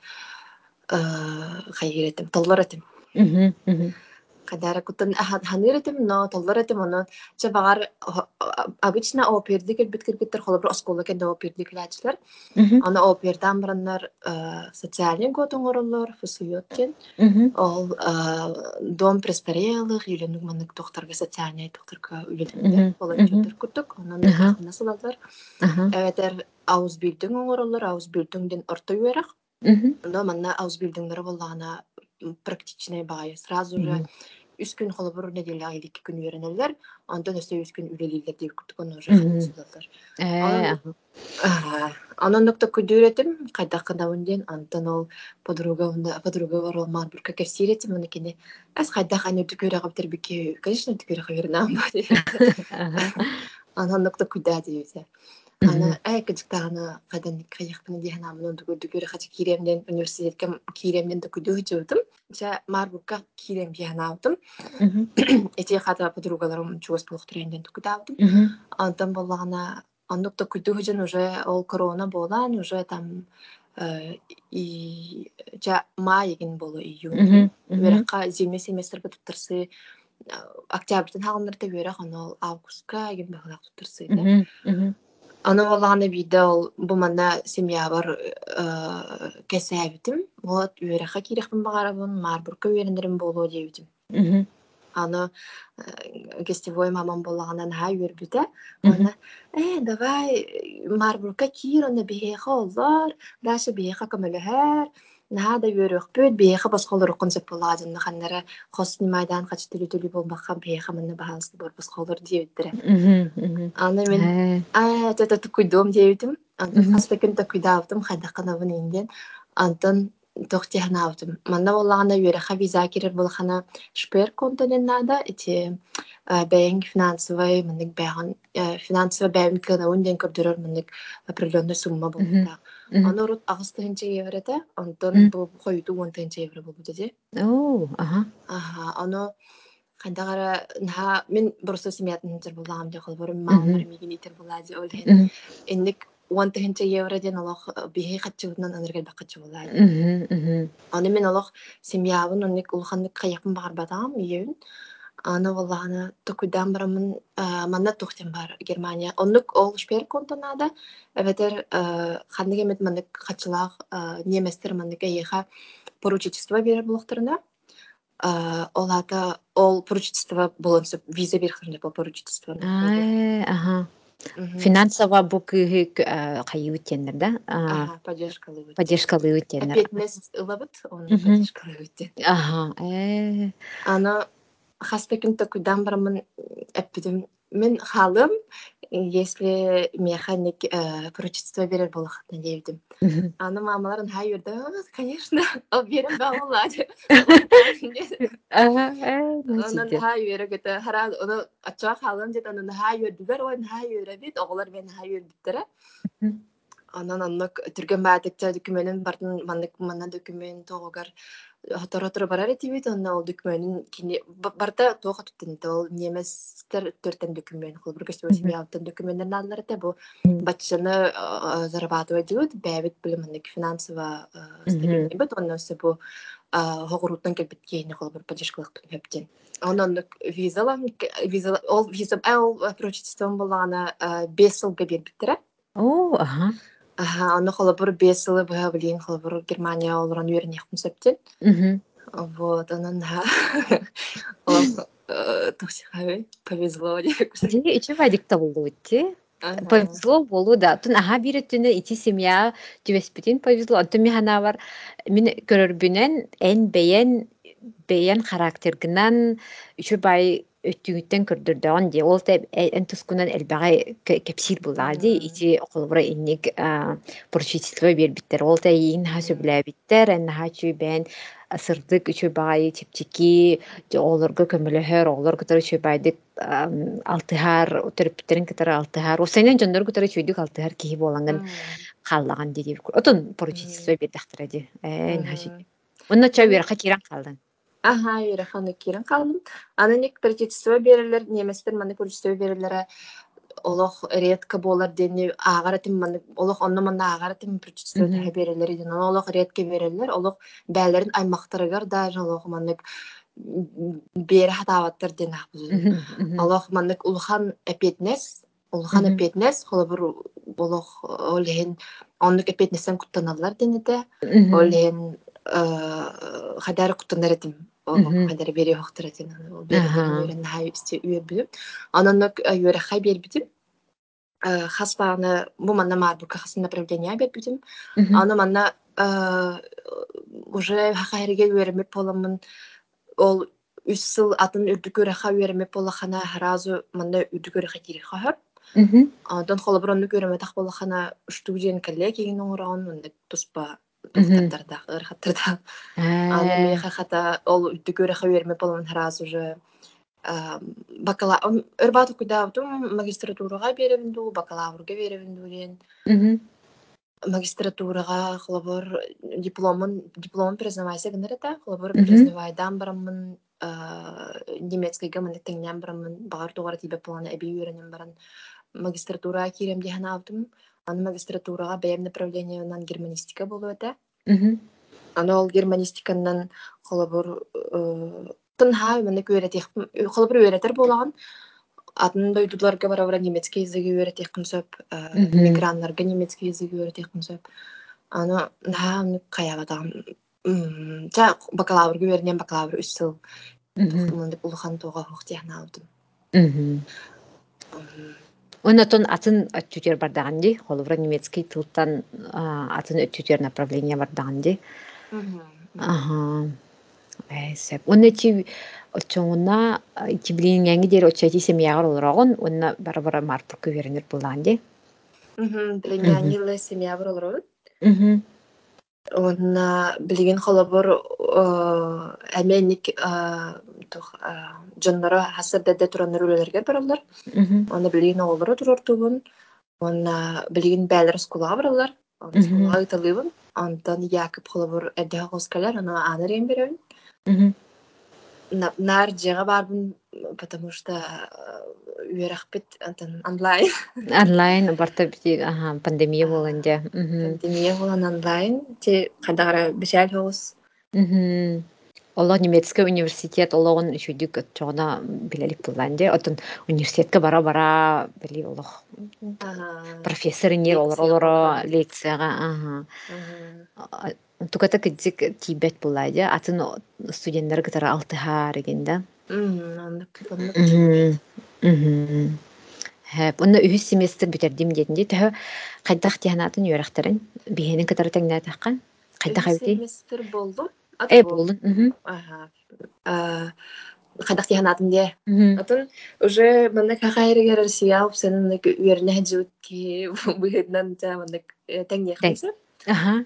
хайгиретим толлар этим Мгм. Мгм. Кадара кутун ханыр этим, но толлар этим оны че багар обычно оперди келбит киргиттер холобр оскола кенде оперди килачылар. Мгм. Аны опердан бараннар социальный год оңороллор, фусуйоткен. Мгм. Ол дом престарелых или ну манык тохтарга социальный тохтарга үлелердер, Мгм. волонтердер Мгм. куттук. Онан да Ага. кахна сылалар. Ага. Эветер аус билдиң оңороллор, аус билдиңден орто юерак. Мгм. Но манна аус билдиңдер боллана практичный бай. Сразу же Мгм. үс күн холобур неделя айды iki күн үйренелер. Антон өстө үс күн үлелилер деп күттүк, оны уже ханна Мгм. сылалар. Э, Анан ага. Анан нокто күдүретим, кайда кыдаунден Антон ол подруга унда подруга бар ол Марбургка кепсиретим, оны кене. Ас кайда ханы түкөрө каптыр бике, конечно түкөрө кавернам бар. Ага. Анан нокто күдә диюсе. Мгм. Ана ай кыдыктагына кайдан кайыкпын диген амын түкөрө хачы киремден университетке киремден түкүдү жутум. Жа Марбургка кирем диген аутым. Мгм. Эти хата подругаларым чугас блох тренден түкүдавдым. Мгм. Антон боллагана Ондукта күдүгүжүн уже ол корона болан уже там и жа май эгин болу июньден. Мгм. Мгм. Уеракка зимний семестрге туттарсы октябрьден хагалнарда уерак аны августка эгин багалак туттарсы да. Мгм. Мгм. Аны боллагана биде ол бу мана семья бар кесебитим. Вот уеракка кирехпин багарабын Марбургка уерендерим болу дебитим. Мгм. Аны гостевой мамам боллаганан ха үрбүтэ. Она, э, давай Марбурга кирона бихеха оллар, даша бихеха көмөлөһөр. Нада үрөхпүт бихеха басколор концеп боладын ханнара хосни майдан кач төлү төлү болбакка бихеха мында баһалсы бор басколор диэттире. Аны мен а тата куйдом диэбитим. Антон хастакын та куйдаавтым хайдакканабын инден. Антон тохтехнаавтым. Манна боллагана үрэха виза кирер болхана шпер контонен нада эти бэйинг финансовый мындык бэйган финансовый бэйин кынаун ден көрдөрөр мындык определенный сумма болта. Аны рут агыстыгынча еврете, антон бу койду он тынча евро болду деди. Оо, аха. Аха, аны кандагара на мен просто семьятын тер булгам деп калбыр мамалар мигин итер булади олген. Эндик он тынча евро ден алах бихи хатчыгынан аныргал бакчы булади. Аны мен алах семьябын онник улханнык каяпын бар батам иен. Аны валланы токудан барамын манна тохтен бар Германия. Оннук ол шпер контонада эветер ханныге мет маннык хатчылах неместер маннык эйха поручительство бере булактырына. Олата ол поручительство болонсып виза берхирне по поручительство. Ага. Финансово бу кыһы кайы үттендер да? Ага, поддержкалы үттен. Поддержкалы үттендер. Опетнес ылабыт, оны поддержкалы үттен. Ага. Аны хастакын токудан барамын эппидим. Мен халым, если механик поручительство берер болахатна дейдим. Аны мамаларын хай үрді, конечно, ал берем бағылады. Онын хай үрі көті, харад, оны атчаға халым дед, онын хай үрдігер, ойын хай үрі бет, оғылар мен хай үрдіктірі. Онын оннық түрген бәдікті докуменtin бартын маннык манна документ тоғығар Hatara barar etibit onna ол документин кини барта тоога туттен ол неместер төртен документ кыл бир көчтө семьялыктан документтер аллар да бу батчаны зарабатывать делают бэбит билимник финансово стабильный бит онно се бу хогуруттан келбит кейни кыл бир поддержкалык хептен онон визалар виза ол виза ал прочтеством болгана беш жылга бербиттер. О, ага. Ага, аны холобур беш жылы быга билин холобур Германия олран үйренехтим септен. Вот, она на... Тухсихаве повезло. Дени ичи вадикта болду итти. Повезло болу да. Тун аха бири түнө ити семья түбеспитин повезло. Антон механа бар. Мен көрөрбүнен эн бейен бейен характергынан үчү бай өттүгүттен көрдөрдөгөн де. Ол да эн тускунан элбагай кепсир булады. Ити околбура инник поручительство бербиттер. Ол да ийин хасу билебиттер. Эн хачу бен сырдык үчү бай чепчики олорго көмөлөһөр олор кытары үчү байдык алтыхар төрөпүттерин кытары алтыхар осенен жондор кытары чүйдүк алтыхар киһи боланган халлаган диди отон поручительство бердахтыради эн хаши онно чабыр хакиран калдын. Ага, юра ханы кирен калдым. Ананик поручительство берилер, неместер маны поручительство берилер. Олох редко болар дени агаратым маны олох онно мана агаратым поручительство берилер иден. Олох редко берилер. Олох бәлерин аймактарыгар даже олох маны бері хатаваттар ден ақбыз. Аллах маннык улхан эпетнес, улхан эпетнес, холы бір болох олеген оннык эпетнесен куттаналар денеде, олеген хадары куттанар этим, хадары бері хоқтыр этим, ол бері ден үйрен хай істе үйер білім. Ананнык үйері хай бер бітім, хаспағаны, бұл манна марбурка хасын направления бер бітім, аны манна уже хақайырге үйерімеп боламын, ол үс жыл атын үрдүкөрө ха үйрөмөп болахана харазу мында үрдүкөрө хатири хахап. Дон холобронну көрөмө так болахана студиен коллегиин оңорон мында туспа туктарда ырхаттарда. Аны меха хата ол үрдүкөрө ха үйрөмөп болон харазу уже бакалавр өрбату кудавдум магистратурага беребинду, бакалаврга беребинду ден. Магистратурага холобор дипломын диплом признавайся гынырата холобор признавайдан барамын немецкийге мында теңнен барамын багар тугара тибе планы эби үйрөнөм баран магистратурага кирем дехана алдым. Аны магистратурага бэм направлениянан германистика болу эте. Аны ол германистиканан холобор тынха мында көрөтек холобор үйрөтер болаган. Атын дойдуларга бара-бара немецкий языгы үйрөтек кымсап, мигрантларга немецкий языгы үйрөтек кымсап. Аны на каябатам. Жа бакалаврга үйрөнем бакалавр үч жыл мындык улахан туга хохтяхна алдым. Оннотон атын өттүтер бардаган ди, холовра немецкий тылтан атын өттүтер направление бардаган ди. Ага. Эсеп. Онна чи очоңуна чи билин янги дер очати семьягар олорогон, онна бара-бара марпур көверенер булган ди. Мм, билин янги семья бар олорогон. Мм. Онна билген холобор әменник тух жоннора хасырда тураннар үлелерге баралар. Онна билген олора турортугун. Онна билген бәлер скула баралар. Онна скула италыбын. Антон Якоб холобор эдде хоскалар, ана анарен берен. Нар жега барбын, потому что үерахпет антон онлайн. Онлайн барта бити, ага, пандемия боланжа. Пандемия болан онлайн, те кадагара бишал хос. Мм. Олла немецкий университет ологон үчүдүк чогона билелик булганжа. Отон университетке бара-бара били олох. Профессор инер олоро лекцияга, ага. Туката кидик тибет булайда, атын студенттер гытара алтыхар эгенде. Мм, аннык аннык тибет. Мм. Хэп, онна үһүс семестр битердим дединде, тәһә кайдах тиһанатын юрахтарын биһенин кытары тәңнәтәккан. Кайдах Үһүс бити? семестр болду. Ат Э, бол. болдун. Мм. Ага. А кайдах тиһанатын де. Мм. Атын уже мында кахайрыгер Россия опсенин үерне хаҗутки быһыднан та мында тәңнәхмисе. Ага.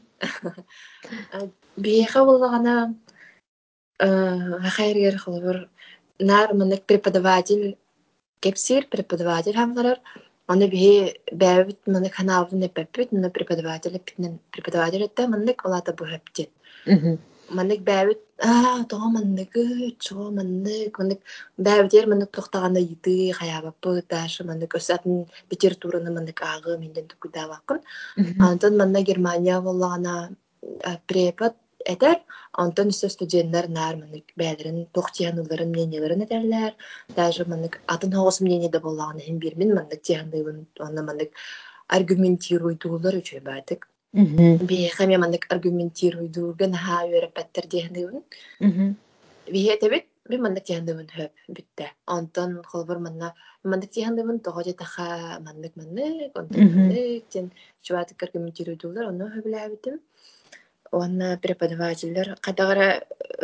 Биеха боллагана кахайрыгер холбор нар мында преподаватель кепсир преподаватель хамгарар. Аны бие бәбит мында каналын эппет, мында преподаватель эппетнен преподаватель этте мында олата бухептет. Мм. Мында бәбит а тоо мында чоо мында мында бәбитер мында тохтаганда йыты хаябаппы ташы мында көсатын литератураны мында агы менден тукуда баккын. Антон мында Германия боллагана препод этер, антон үсө студенттер нар мында бәлерин тохтияныларын мнениелерин этерлер. Даже мында атын хогос мнение да боллагана хем бирмин мында тиянлыгын аны мында аргументируйдуулар үчөй байтык. Би хаме мында аргументируйдууган ха өрөпөттөр диянлыгын. Би этебит би мында тиянлыгын хөп битте. Антон холбор мында мында тиянлыгын тогоже таха мында мында антон мында тен чуат аргументируйдуулар аны хөбләбитим. Онна преподавательлер кадагара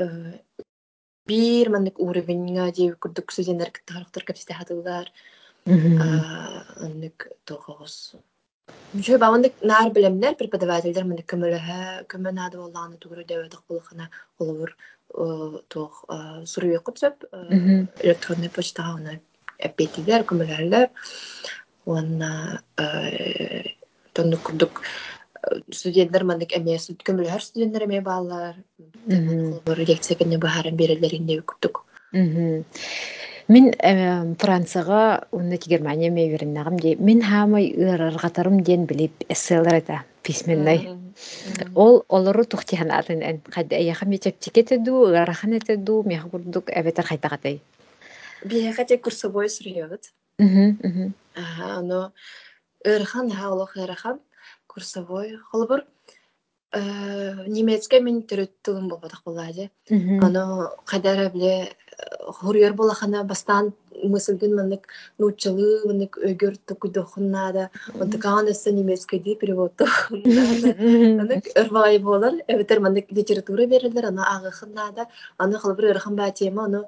бир мандык уровеньга же курдук студенттер кыттарыктар кепсте хатылар. А андык тогос. Жö бамандык нар билемнер преподавательдер мандык көмөлөһө көмөнады болланы тугру дөбөтөк булгана олор тох суруй кутсап электронный почтага аны эппетилер көмөлөрлөр. Онна тондук курдук студенттер мандык эмес көмөлөр студенттер эме баалар. Теманы холбор лекцияны баһарын берелеринде күттүк. Мен Францияга ундaki Германия мевериннагым ди. Мен хамай ыраргатарым ден билип эсселер эте письменный. Ол олору тухтиханатын эн кайда яха мечептикете ду, ырахан эте ду, меха курдук эбетер кайтагатай. Би хате курсовой сурьёт. Мм, мм. Ага, но ырхан хаалох ырахан курсовой холбор немецкий мен төрөттүгүм болбодок булады. Аны кадара биле хурьер булахана бастан мысылгын мынык нуччалы мынык өгөр токудохуннада онтаканысы немецкий ди перевод нада мынык ырбай болар эбетер мынык литература берилер аны агыхыннада аны кылбыр ырхан ба тема аны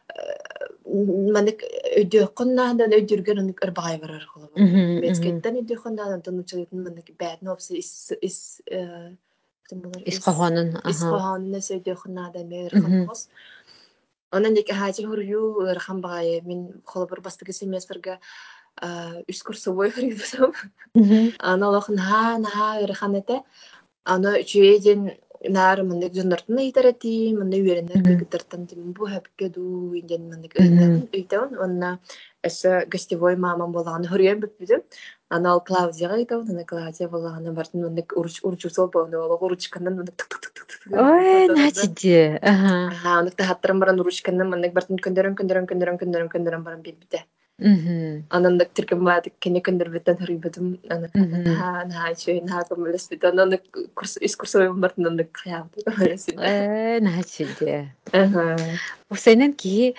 мынык өдөкуннада өдүргөн аны ырбай барар кылбыр немецкийден өдөкуннада аны нуччалытын мынык бэт нопсы ис ис Исқаханын, ага. Исқаханын сөйдөкуннада меырхан хос. Онан дик хажи хурю ырхан багай мен холбор бастыгы семестрга үс курсовой хурюсам. Ана лохн ха на ырхан эте. Ана үчөйден нар мындык жоннортун ыйтарети, мында үйренер кыргыттартан дим бу хапке ду инден мындык ыйтагын ыйтагын. Онна эсэ гостевой мамам болганы хурюм биппидим. Ана ал Клаудияга ыйтагын, ана Клаудия болганы бартын мындык уруч уручусол болду, ол уручкандан мындык тык тык тык тык. Ой, начиде. Ага. Ага, мындык тахаттырым баран уручкандан мындык бартын көндөрөн көндөрөн көндөрөн көндөрөн көндөрөн баран биппите. Мгм. Анан тиркен баатык кене көндөрбөттөн хырыйбытым ана Мгм. наха наха чөй наха көмөлөспүт анан курс ис курсовым бартынан каябыт көрөсүн. Э, нахачиде. Ага. Усайнан ки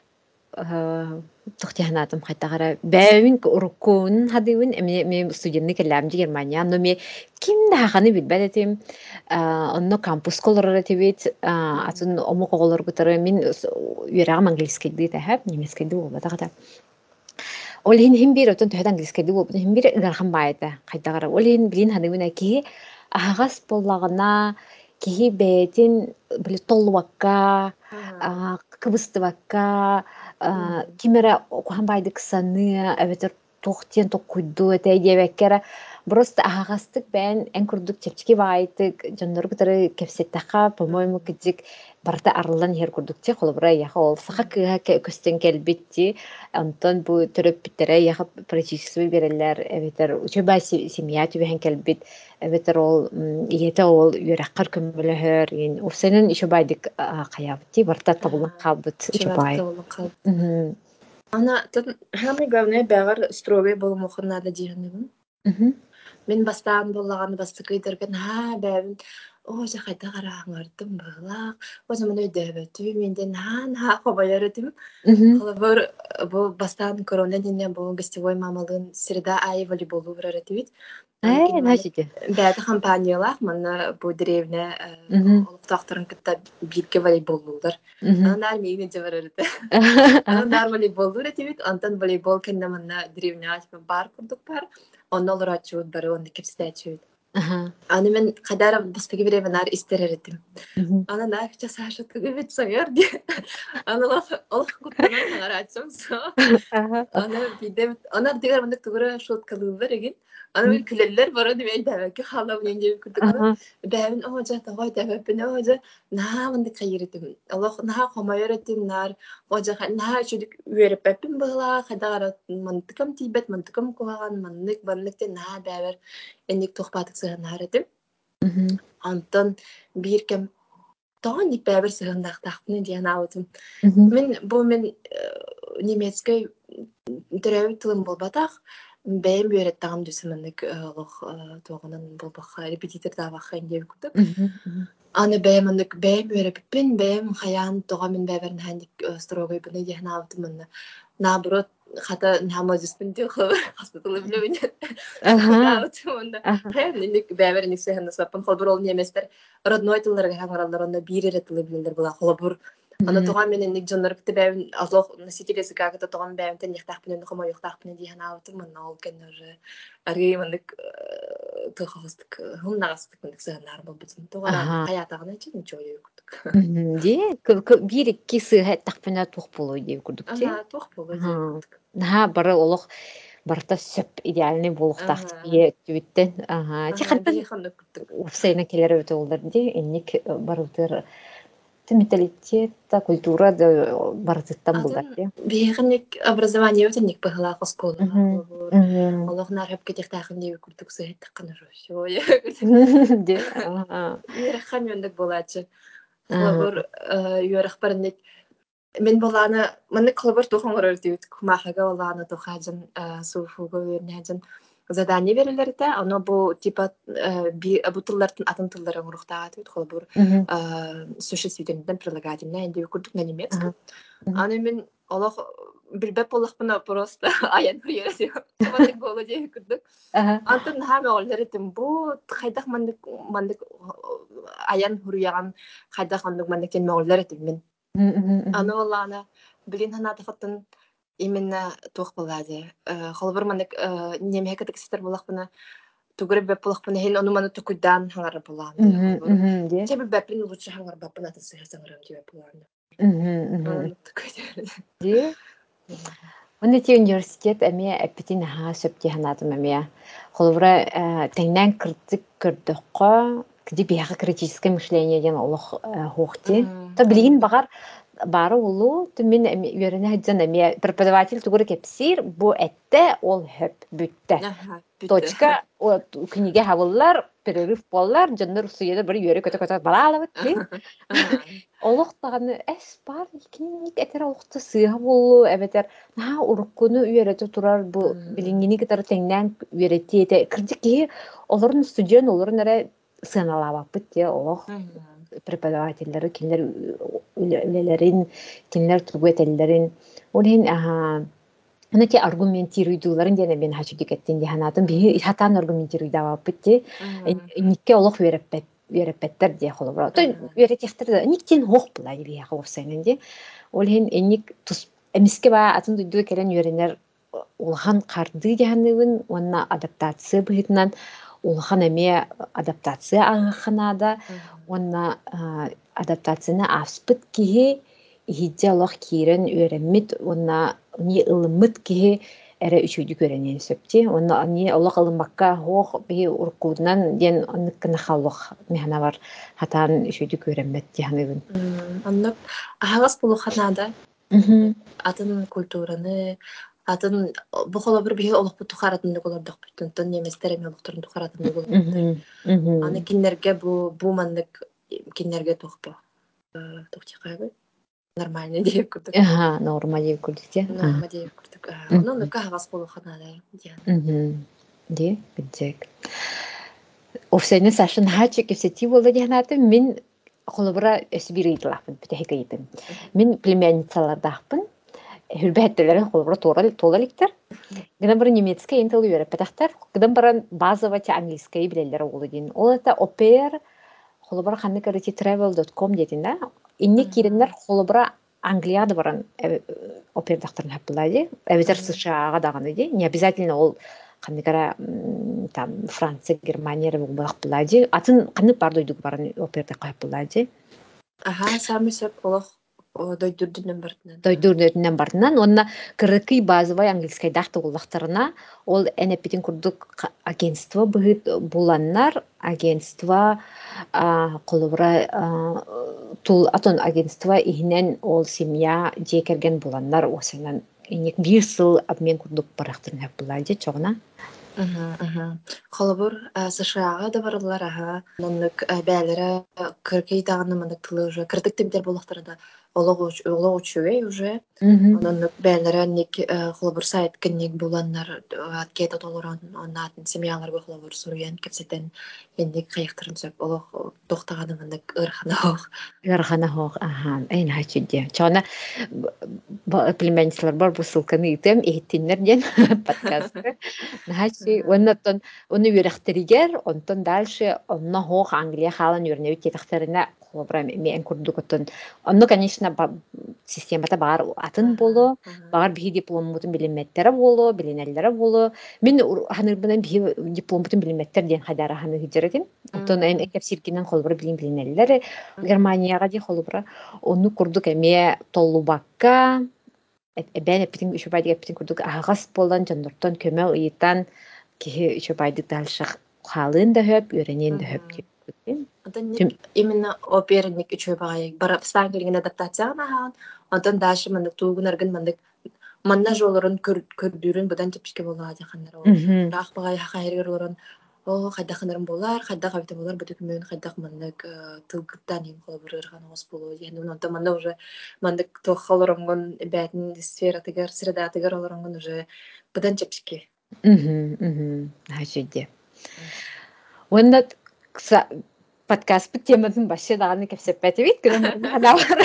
тохтяхнатым хайтагара бәвин уруккун хадывын эме ме студентны келләм Германия но ме ким да ханы бит бәлетим онно кампус колоры тибит атын омо коголор гытары мин юрагам английский ди тахап немецкий ди болба тагата ол хин хим бир отон төһөт английский ди болба хим бир гархан байта хайтагара ол хин билин хадывын ки агас боллагына киһи бәйтин биле толлубакка кыбыстыбакка кимера окухан байдык саны эбетер тохтен токкуйду этэй дебеккера просто агастык бен эн курдук чепчики байтык жондор гытары кепсеттака по-моему кидик барта арылдан хер курдукче холбра яха ол саха кыга көстен келбитти антон бу төрөп биттере яха практически берелер эбетер учеба семья түбен келбит эбетер ол иете ол юраккар көмөлөһөр ин усенен ишо байдык каябыти барта табылган калбыт учебай. Ана тон самое главное бягар строгой болмохун надо дигенем. Мен бастаан боллаган бастыкы дерген ха бәбин о жа кайта караңардым булак о жа мына дөбөтү менден хан ха хобаярытым холобор бу бастаан корона динен бу гостевой мамалын среда ай волейболу браратыбит анкин маны бәді компаниялар мана бу древне олуктактарын кытта бирге волейболлулар анар мейне жабарырды анар волейболлу ратыбит антон волейбол кенне мана древне бар курдук бар оннол рачуут бары онды кепстечүт. Аны мен кадар бастыгы бире менар истерердим. Аны нах жасашыт күбүт соңер ди. Аны лах алах куттанан тагарачым со. Аны бидем аны дигер мендек тугра шоткалылар эген. Аны мен күлеллер бара димен дәвәке халам ненде күрдүк аны. Бәвин о жата гой дәвәпне о жа на мендек кайырдым. Алах на хомайырдым нар о жа на чүдик үереппин бала кадар мантыкам тибет мантыкам куган мандык бандыкте на бәвер эник тохпатык сыгынарыдым. Антон бир кем тоон ник бәвер сыгындактакны диен аутым. Мен бу мен немецкий төрөбү тылым болбатак бәйм бүйрет тагым дүсүмөндүк олох тоогунан болбакка репетитор табакка индеп күтүк. Аны бәймөндүк бәйм бүйреппин бәйм хаян тога мен бәверин хандик строгой буны диен аутым. Наоборот хата намазыспын ди хо хоспиталы билебин. Да, утумда. Хэ ник бәвер ник сехна сапын холбор ол неместер родной тылларга хаңаралар онда бир эретиле билдер була холбор. Аны туган менен ник жоннор китте бәвин азох носителеси кагыта туган бәвин тен яктакпын хомо яктакпын диен аутым мен ол кенер аргеймандык тохостык хумнагастык ник сехнар болбутун. Туган хаятагына чын чой күтүк. Ди бир икки сыгат такпына тух болуу деп күрдүк те. Ага, тух болуу деп күрдүк. Наха бары олох барта сөп идеальный болуктак тие түбүттен. Ага. Чахаттан Усайна келер өтө олдар ди энник барытыр менталитет та культура да барытыттан булдар ди. Бехник образование өтөнник бахла школа. Аллах нарып кетектахын деп күрдүк сыйт такын русё. Ди. Ага. Ирхан өндүк болачы. Хлабыр юрах барник мен баланы мен клубар тухангар өтүт кумахага баланы тухажын суфуга вернежин задание берилерде аны бу типа би бутыллардын атын тылдарын урухтаат өт хлабыр существительныйдан прилагательное инде күрдүк на немецком. Аны мен Аллах билбеп боллакпына просто аян күрөсү. Мандык болу деп күрдүк. Антын хаме олдеритим бу кайдак мандык мандык аян хүрүяган кайдак мандык мандыктен олдеритим мен. Аны валлана билин ханаты фаттын именно тух баладе. Холбор мандык немеке текстер болакпына тугры беп болакпына хен аны маны тукудан хаңар буланды. Холбор. Тебе бепин лучше хаңар бапына тесеңрам деп буланды. Мм. Ди. Университет университет эме эпитин ха сөпти ханатым эме. Холбора теңнен кырдык көрдөккө кди бияга критическое мышление ден олох хохти. Та билин багар бары улу түмин үйөрүнө хаджан эми преподаватель тугур кепсир бу этте ол хөп бүтте. Точка книге хабыллар, перерыв боллар, жоннор суйда бир үйөрү көтө-көтө балалабыт ти. Олохтаганы эс бар, киник этер олохта сыйга болу, эбетер. На уруккуну үйөрөтө турар бу билингини кетер теңнен үйөрөтти эте. Кырдыки олорун студент олорун эре сыналабаппыт ти олох. Преподавательлери кинилер үлелерин, кинилер тугуэтеллерин. Олин аха аны те аргументируйдуларын дене мен хачудик эттин ди ханатын би хатан аргументируйдабаппыт ти. Никке олох үйөрөппет үйөрөппеттер ди холобро. То үйөрөтехтер никтен хох була ди я ховсайнын ди. Олин эник тус эмиске ба атын дуйду келен үйөрөнер улхан карды диханыбын, онна адаптация быһытынан улхан эме адаптация агаханада, онна адаптацияны аспыт киһи иһиддьэ олох киирэн үөрэммит, онна ни ылыммыт киһи эре үчүйдү көрөнен сөпти. Онна ни олох ылыммакка хоох биһи уруккуунан диэн оннуккына халлох механа бар хатаан үчүйдү көрөммет диханыбын. Оннук аһагас булуханада атын культураны атын бу холобур биһи олохпут тухаратыннык олордох бүтүнтөн неместер эми олохторун тухаратыннык олордор. Аны киннерге бу бу маннык киннерге тохпо. Тохтикайбы нормально диеп курдук. Аха, норма диеп курдук те. Норма диеп курдук. Ону нука аһагас булуханада диэн. Ди, биджек. Офсайны сашын хачы кепсети болду диханаты мен холобура өсбирийдилахпын, бүтехекейпин. Мен племянницалардахпын. Хүрбәттелерин холобура толаликтер. Гынан бары немецкий интел үйрәппәтәхтәр. Гынан бары базовый те английский билелләр олы дин. Ол это опер холобура ханны карити travel dot com дедин да. Инне киреннәр холобура Англияда баран опердахтарын хаппылайды. Эбетер США-га даганы ди. Не обязательно ол ханны кара там Франция, Германия бахпылайды. Атын ханны бар дойдук баран оперда хаппылайды. Аха, сами сөп олох дойдурдунан бартынан. Дойдурдунан бартынан. Онна кырыкый базовый английский дахты уллахтарына ол энепитин курдук агентство быһыт буланнар, агентство колобура тул атон агентство ихнен ол семья жекерген буланнар осынан иник бир сыл обмен курдук барахтырын хаппылайды чогна. Холобур США-га да барылар аха. Ноннук бәлере кыркый даганы мындык тылы уже кырдык темтер болуктары да олог учугай уже. Ноннук бәлере ник холобур сайт кенник буланнар аткета толорон оннатын семьялар бу холобур суруян кепсетен эндик кайыктырын сөп олог токтаганы мындык ырхана хох. Ырхана хох, аха, эйн хачыдде. Чона племянницалар бар бу ссылканы итем, эйттиннер ден подкасты. Нахачи, оннотон оны үйрәхтеригер, онтон дальше онно хох Англия халан үйрәнеу тетахтерина холобра мен курдукотон. Онно, конечно, системата бар атын боло, бар бии дипломмутун билиметтери боло, билинеллери боло. Мен ханырбынан бии дипломмутун билиметтер ден хайдара ханы хиджеретин. Онтон эн экепсиркинен холобра билин билинеллери Германияга ди холобра. Онну курдук эме толлубакка бәне питин үчү байдык питин курдук агас болдан жандыртан көмө ыйытан кихи үчү байдык дальшах халын да хөп, үйренен да хөп дип. Именно оперник үчү бай бара стангелген адаптацияна хан. Онтон дальше мындык тугун аргын мындык манна жолорун көрдүрүн будан тепишке болла дихандар ол. Рах багай хахайрыр орон о хайдаханарым болар, хайдах авита болар, бутук мен хайдах мындык тылгыттан им холобурырган ос болу. Yani онтон манна уже мындык тохолоронгон бәтин сфератыгар, средатыгар олоронгон уже будан тепишке. Мм, мм, хачыдде. Онда подкаст бит темасын башы даганы кепсеппети бит, гынан бар хана бар.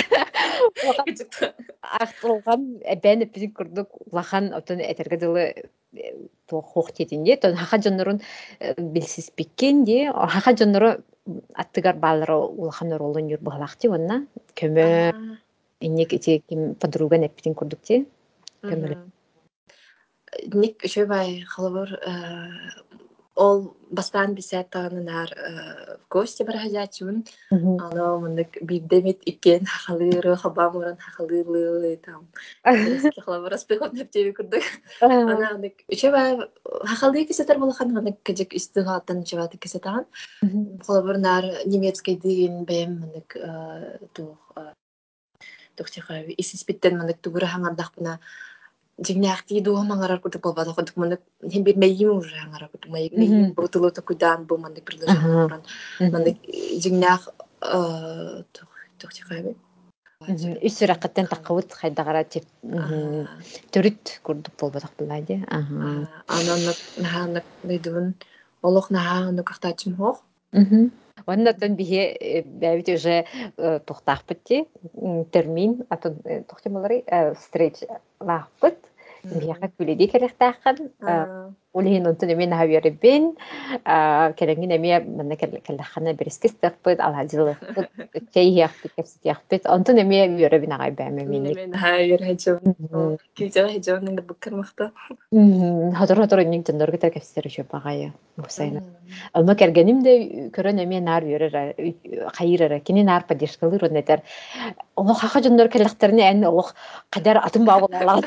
Ахтылган бәне bizim курдук лахан отон этерге дылы то хох тетинде, то хаха жоннорун билсиз биккенде, хаха жоннору аттыгар балары улахан ролун юр баглакты онна көмө инек ити ким подруга непитин курдук те. Көмөлө. Ник шөбай халыбыр ол бастан бисет тағанынар в гости барахазячун. Ано мындык биддемит икен халыры хабамуран халылы там. Терески халыбыр аспехот нептеви курдук. Ана ник шөбай халы кисетер болахан ник кежек истигатын шөбаты кисетан. Халыбыр нар немецкий деген бем мындык тух тохтихави исиспиттен мандык тугура хангардахпына жигнахти дуа мангарар кутуп болбада кутуп мандык хем бир мейим уже хангара кутуп мейим бутылу токудан бу мандык предложение буран мандык жигнах тохтихави үсүраккаттан таккыбыт хайдагара төрүт курдук болбодок булайды. Анан наханак дыдын олох наханак кахтачым хох. Оннотон бихе бәбит уже тухтахпытти термин атын тухтымалары встреч лахпыт бихе күледи керехтахкан улин онтон мен хавьербин кереңин эме мен келлахана берискестаппыт алхадилы чейяхпыт кепситяхпыт онтон эме йөрөбин агай бәме минник мен хавьер хажо кижа хажо нинде буккармакта хатыр хатыр инник тендер кетер кепситер жөп агай усайна алма кергеним де көрөн эме нар йөрөр хайырара кини нар поддержкалыр онетер ол хаха жоннор келехтерне эн ол кадар атын багылалар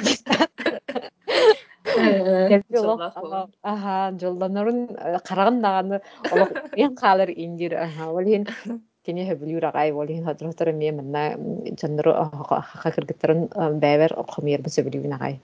Аха, жолданарын караган даганы ол мен калыр индир аха олин кини хөбүлүр агай олин хадротор мен мына жоннор хака кыргыттарын бәбер комер бу сөбүлүн агай.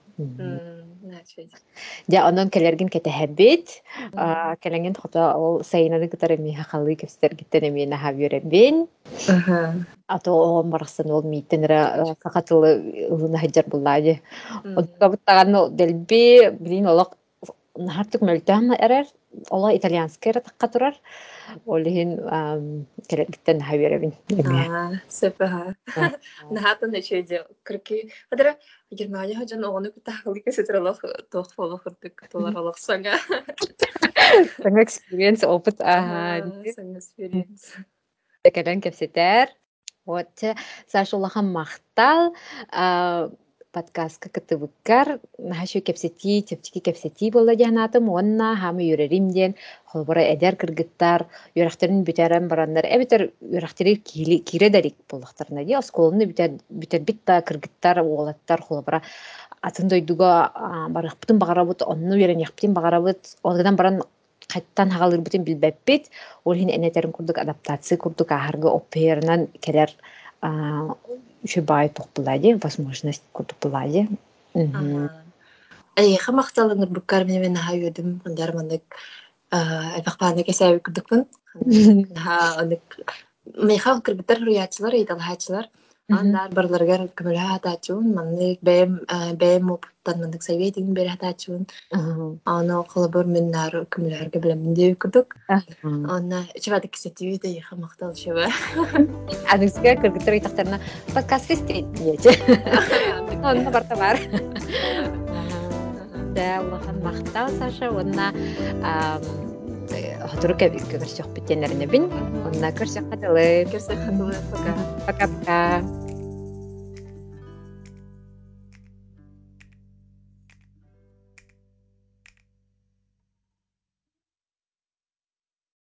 Ja ondan kelерген kete habit kelengen хата ол сайнаны кытары ми хакалы кепстер гиттен мен хавьербин. Аха. Ато он барсын ол митенера сакатылы ылына хаҗар буллады. Оттабыттаган делби билин олак нахартык мөлтән эрер ола итальянская такка турар. Олин келгиттен хавьербин. А, сепа. Нахатын эчеде кырки. Хадара Германия хаҗан огыны кутахылы кесетралах тохфолох кырдык толаралах саңа. Саңа experience опыт аха. Саңа experience. Текелен кепсетер. Вот сашулахан мактал подкастка кытыбыккар наһашы кепсети тепчики кепсети болла жанатым онна хамы юреримден холбора эдер кыргыттар юрахтарын бүтерен барандар эбетер юрахтары кире кире дарик боллактарына ди осколны бүтер бүтер битта кыргыттар оолаттар холбора атын дойдуга барыхпытын багарабыт онну юрен яктын багарабыт олгадан баран кайттан хагалыр бүтүн билбеппит ол хин энетерин курдук адаптация курдук ахарга опернан келер еще бай топлади возможность кутуплади. Эй, хамахталыныр буккар мен хавьедим хандар мандык албакпаны кесәбик курдукпун. Ха онык мейхал кыргыттар хуриятчылар ыйталхачылар андар барларга көмөлө атачун мандык бэм бэм оптан мандык советин бер атачун. Аны кылыбыр меннар көмөлөргө билем дип курдук. Аны чабадык кесетиби де хамахтал шеба. Адыска кыргыттар ыйтактарына подкаст фестит диете. Онна барта бар. Да, Аллахан мактал Саша, онна хатырык көрсөк биттенерне бин. Онна көрсөк кадылы. Көрсөк кадылы. Пока. Пока-пока.